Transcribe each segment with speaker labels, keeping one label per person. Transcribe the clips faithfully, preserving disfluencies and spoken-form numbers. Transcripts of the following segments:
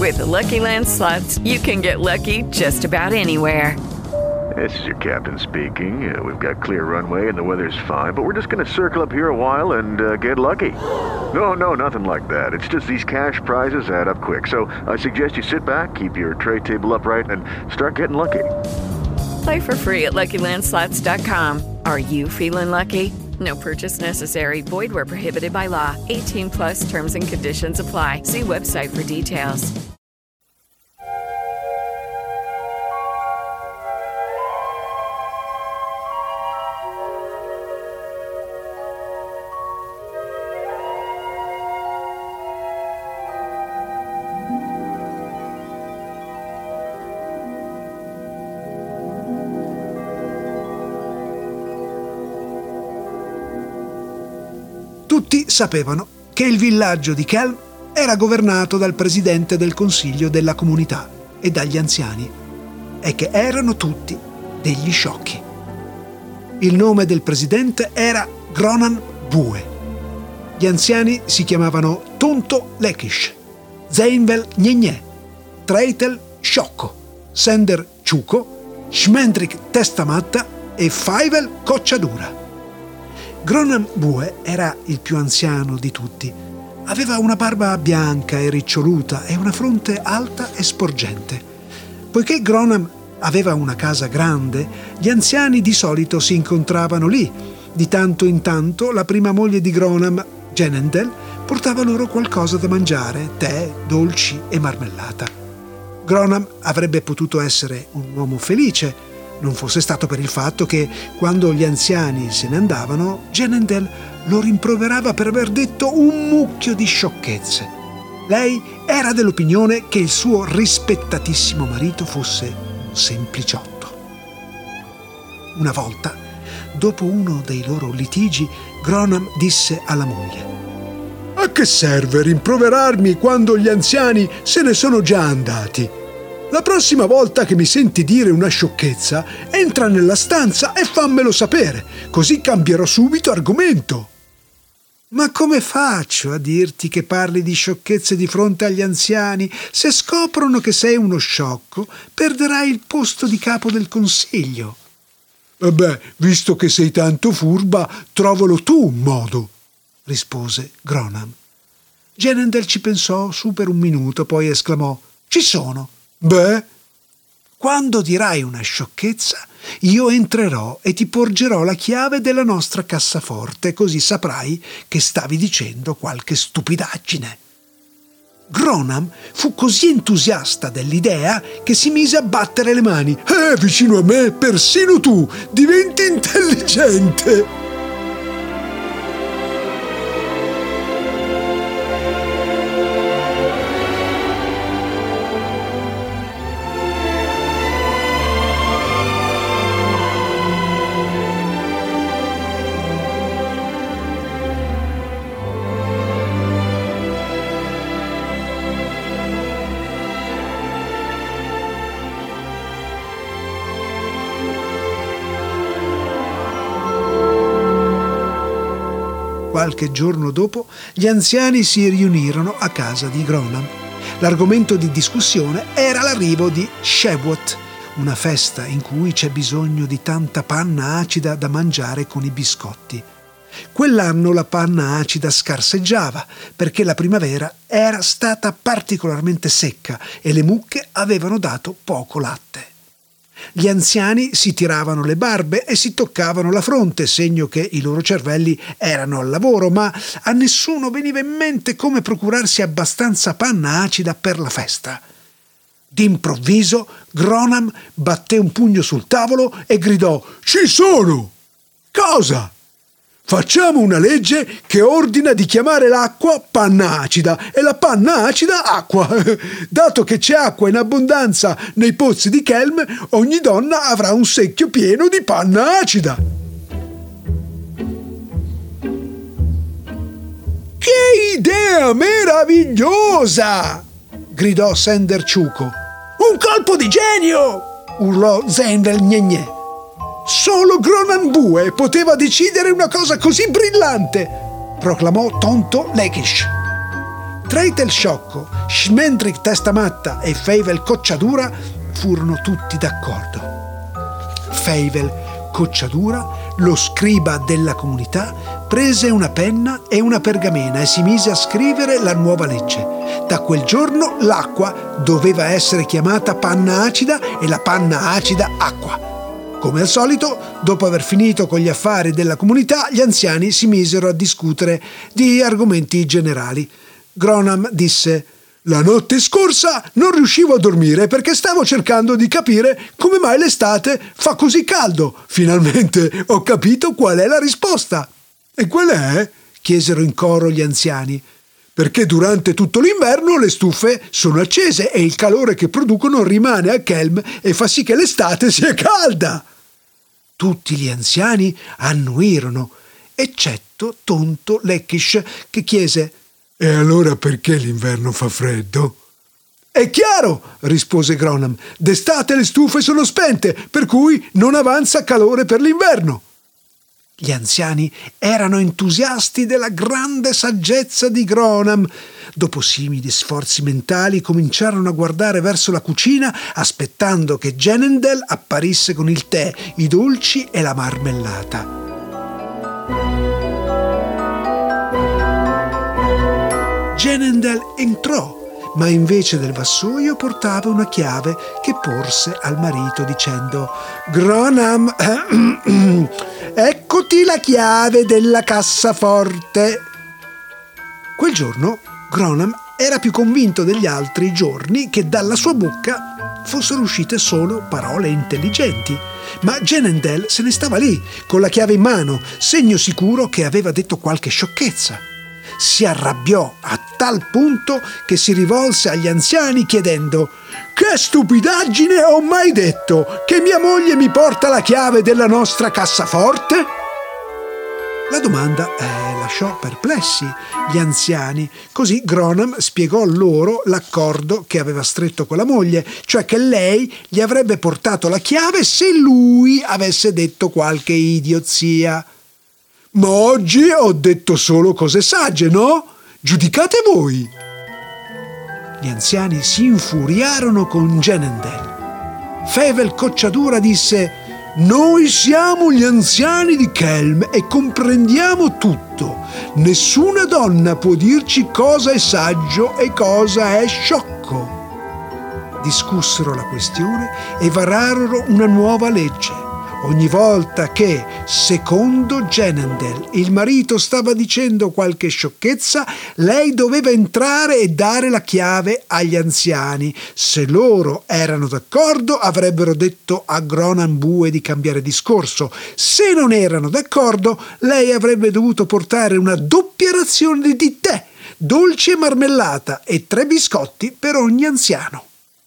Speaker 1: With the Lucky Land Slots, you can get lucky just about anywhere.
Speaker 2: This is your captain speaking. Uh, we've got clear runway and the weather's fine, but we're just going to circle up here a while and uh, get lucky. No, no, nothing like that. It's just these cash prizes add up quick. So I suggest you sit back, keep your tray table upright, and start getting lucky.
Speaker 1: Play for free at Lucky Land Slots dot com. Are you feeling lucky? No purchase necessary. Void where prohibited by law. eighteen plus terms and conditions apply. See website for details.
Speaker 3: Tutti sapevano che il villaggio di Kelm era governato dal presidente del consiglio della comunità e dagli anziani, e che erano tutti degli sciocchi. Il nome del presidente era Gronan Bue. Gli anziani si chiamavano Tonto Lekish, Zeinvel Gnegne, Treitel Sciocco, Sender Ciuco, Schmendrik Testamatta e Faivel Cocciadura. Gronan Bue era il più anziano di tutti. Aveva una barba bianca e riccioluta e una fronte alta e sporgente. Poiché Gronan aveva una casa grande, gli anziani di solito si incontravano lì. Di tanto in tanto la prima moglie di Gronan, Genendel, portava loro qualcosa da mangiare, tè, dolci e marmellata. Gronan avrebbe potuto essere un uomo felice, non fosse stato per il fatto che, quando gli anziani se ne andavano, Genendel lo rimproverava per aver detto un mucchio di sciocchezze. Lei era dell'opinione che il suo rispettatissimo marito fosse un sempliciotto. Una volta, dopo uno dei loro litigi, Gronan disse alla moglie: «A che serve rimproverarmi quando gli anziani se ne sono già andati? La prossima volta che mi senti dire una sciocchezza, entra nella stanza e fammelo sapere, così cambierò subito argomento». «Ma come faccio a dirti che parli di sciocchezze di fronte agli anziani? Se scoprono che sei uno sciocco, perderai il posto di capo del consiglio». «E beh, visto che sei tanto furba, trovalo tu un modo», rispose Gronan. Genendel ci pensò su per un minuto, poi esclamò: «Ci sono». «Beh, quando dirai una sciocchezza, io entrerò e ti porgerò la chiave della nostra cassaforte, così saprai che stavi dicendo qualche stupidaggine». Gronan fu così entusiasta dell'idea che si mise a battere le mani. «Eh, vicino a me, persino tu diventi intelligente!» Qualche giorno dopo, gli anziani si riunirono a casa di Gronan. L'argomento di discussione era l'arrivo di Shavuot, una festa in cui c'è bisogno di tanta panna acida da mangiare con i biscotti. Quell'anno la panna acida scarseggiava perché la primavera era stata particolarmente secca e le mucche avevano dato poco latte. Gli anziani si tiravano le barbe e si toccavano la fronte, segno che i loro cervelli erano al lavoro, ma a nessuno veniva in mente come procurarsi abbastanza panna acida per la festa. D'improvviso Gronan batté un pugno sul tavolo e gridò: «Ci sono!» «Cosa?» «Facciamo una legge che ordina di chiamare l'acqua panna acida e la panna acida acqua. Dato che c'è acqua in abbondanza nei pozzi di Kelm, ogni donna avrà un secchio pieno di panna acida». «Che idea meravigliosa!» gridò Sender Ciuco. «Un colpo di genio!» urlò Zeinvel Gnegne. «Solo Gronan Bue poteva decidere una cosa così brillante!» proclamò Tonto Lekish. Treitel Sciocco, Schmendrick Testamatta e Feivel Cocciadura furono tutti d'accordo. Feivel Cocciadura, lo scriba della comunità, prese una penna e una pergamena e si mise a scrivere la nuova legge. Da quel giorno l'acqua doveva essere chiamata panna acida e la panna acida acqua. Come al solito, dopo aver finito con gli affari della comunità, gli anziani si misero a discutere di argomenti generali. Gronam disse: «La notte scorsa non riuscivo a dormire perché stavo cercando di capire come mai l'estate fa così caldo. Finalmente ho capito qual è la risposta». «E qual è?» chiesero in coro gli anziani. «Perché durante tutto l'inverno le stufe sono accese e il calore che producono rimane a Kelm e fa sì che l'estate sia calda». Tutti gli anziani annuirono, eccetto tonto Leckish, che chiese: «E allora perché l'inverno fa freddo?» «È chiaro», rispose Gronam, «d'estate le stufe sono spente, per cui non avanza calore per l'inverno». Gli anziani erano entusiasti della grande saggezza di Gronam. Dopo simili sforzi mentali cominciarono a guardare verso la cucina, aspettando che Genendel apparisse con il tè, i dolci e la marmellata. Genendel entrò, ma invece del vassoio portava una chiave che porse al marito dicendo: «Gronam, eccoti la chiave della cassaforte». Quel giorno Gronam era più convinto degli altri giorni che dalla sua bocca fossero uscite solo parole intelligenti, ma Genendel se ne stava lì, con la chiave in mano, segno sicuro che aveva detto qualche sciocchezza. Si arrabbiò a tal punto che si rivolse agli anziani chiedendo: «Che stupidaggine ho mai detto? Che mia moglie mi porta la chiave della nostra cassaforte?» La domanda eh, lasciò perplessi gli anziani. Così Gronam spiegò loro l'accordo che aveva stretto con la moglie, cioè che lei gli avrebbe portato la chiave se lui avesse detto qualche idiozia. «Ma oggi ho detto solo cose sagge, no? Giudicate voi!» Gli anziani si infuriarono con Genendel. Feivel Cocciadura disse: «Noi siamo gli anziani di Kelm e comprendiamo tutto. Nessuna donna può dirci cosa è saggio e cosa è sciocco». Discussero la questione e vararono una nuova legge. Ogni volta che, secondo Genendel, il marito stava dicendo qualche sciocchezza, lei doveva entrare e dare la chiave agli anziani. Se loro erano d'accordo, avrebbero detto a Gronam Bue di cambiare discorso. Se non erano d'accordo, lei avrebbe dovuto portare una doppia razione di tè, dolce e marmellata e tre biscotti per ogni anziano.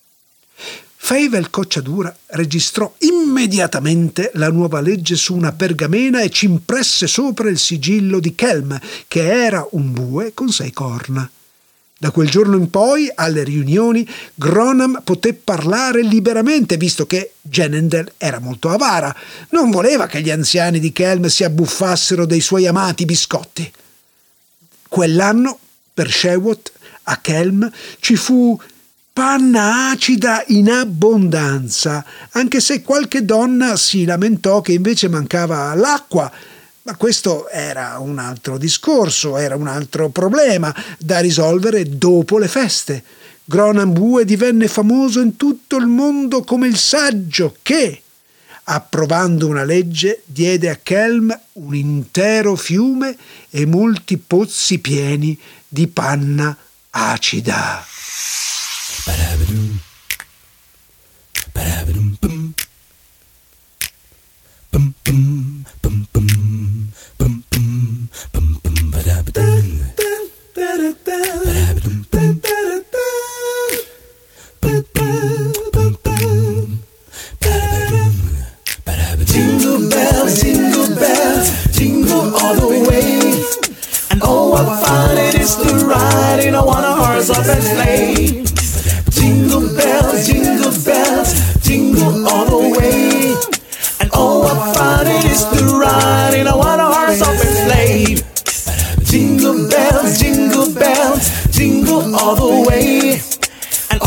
Speaker 3: Feivel Cocciadura registrò immediatamente la nuova legge su una pergamena e ci impresse sopra il sigillo di Kelm, che era un bue con sei corna. Da quel giorno in poi, alle riunioni, Gronam poté parlare liberamente, visto che Genendel era molto avara. Non voleva che gli anziani di Kelm si abbuffassero dei suoi amati biscotti. Quell'anno, per Shewot, a Kelm, ci fu panna acida in abbondanza, anche se qualche donna si lamentò che invece mancava l'acqua. Ma questo era un altro discorso, era un altro problema da risolvere dopo le feste. Gronam Bue divenne famoso in tutto il mondo come il saggio che, approvando una legge, diede a Kelm un intero fiume e molti pozzi pieni di panna acida. Ba-da-ba-doom. Ba-da-ba-doom, bum. Bum, bum, bum, bum, bum, bum, bum, bum, ba-da-ba-doom. Ba-da-ba-doom, bum. Bum, bum, bum, bum. Ba-da-ba-doom. Ba-da-ba-doom. Jingle bells, jingle bells, jingle all the way. And oh, what fun it is to ride in a one-horse open sleigh. Jingle bells.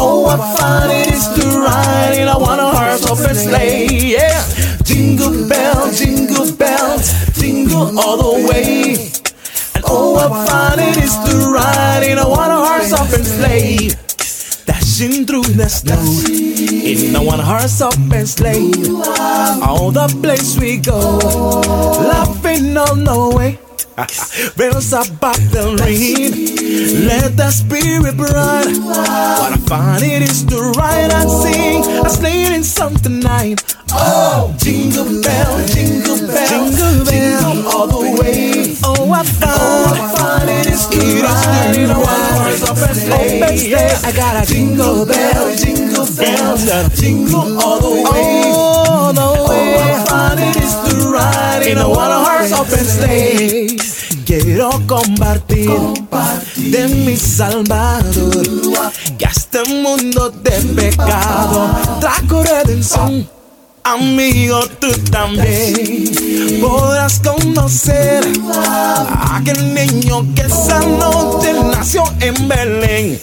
Speaker 4: Oh, what fun it is to ride in a one-horse open sleigh. Yeah, jingle bells, jingle bells, jingle all the way. And oh, what fun it is to ride in a one-horse open sleigh. Dashing through the snow in a one-horse open sleigh. All the place we go, laughing on the way. Bells about the ring, let the spirit run. What a fun it is to ride and sing a sleighing song tonight. Oh, jingle bell, jingle bell, jingle bell, jingle all the way. Oh, what fun, oh, what fun it is to it ride in a one-horse open sleigh. Yeah, I got a jingle bell, jingle bell, jingle all the way. Oh, the way. Oh, what fun it is to ride in a one-horse open sleigh. Quiero compartir, compartir de mi Salvador, que a este mundo de pecado trajo redención. Amigo, tú también podrás conocer a aquel niño que esa noche nació en Belén.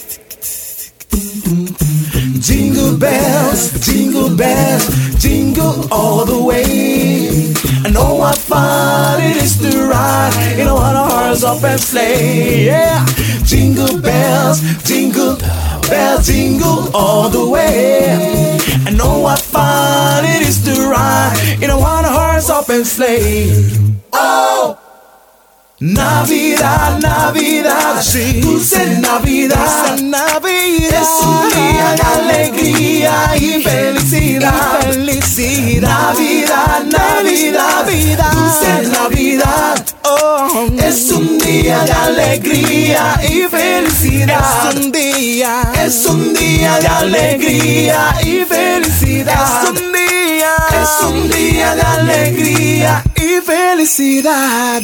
Speaker 4: Jingle bells, jingle bells, jingle all the way. And oh, what fun it is to ride in a one-horse open sleigh. Yeah, jingle bells, jingle bells, jingle all the way. And oh, what fun it is to ride in a one-horse open sleigh. Oh, Navidad, Navidad, sí, dulce Navidad, dulce Navidad, es un día de alegría y felicidad, y felicidad. Navidad, Navidad, Navidad, dulce Navidad, oh, es un día de alegría y felicidad, es un día, es un día de alegría y felicidad, es un día, es un día de alegría y felicidad.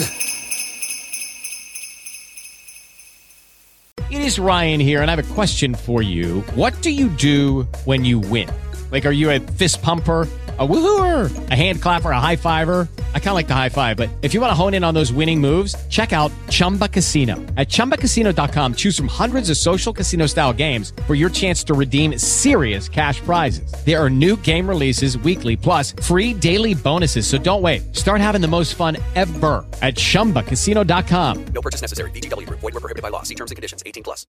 Speaker 5: It is Ryan here, and I have a question for you. What do you do when you win? Like, are you a fist pumper, a woohooer, a hand clapper, a high fiver? I kind of like the high five, but if you want to hone in on those winning moves, check out Chumba Casino. At chumba casino dot com, choose from hundreds of social casino-style games for your chance to redeem serious cash prizes. There are new game releases weekly, plus free daily bonuses. So don't wait. Start having the most fun ever at chumba casino dot com.
Speaker 6: No purchase necessary. V G W Group. Void where prohibited by law. See terms and conditions. eighteen plus.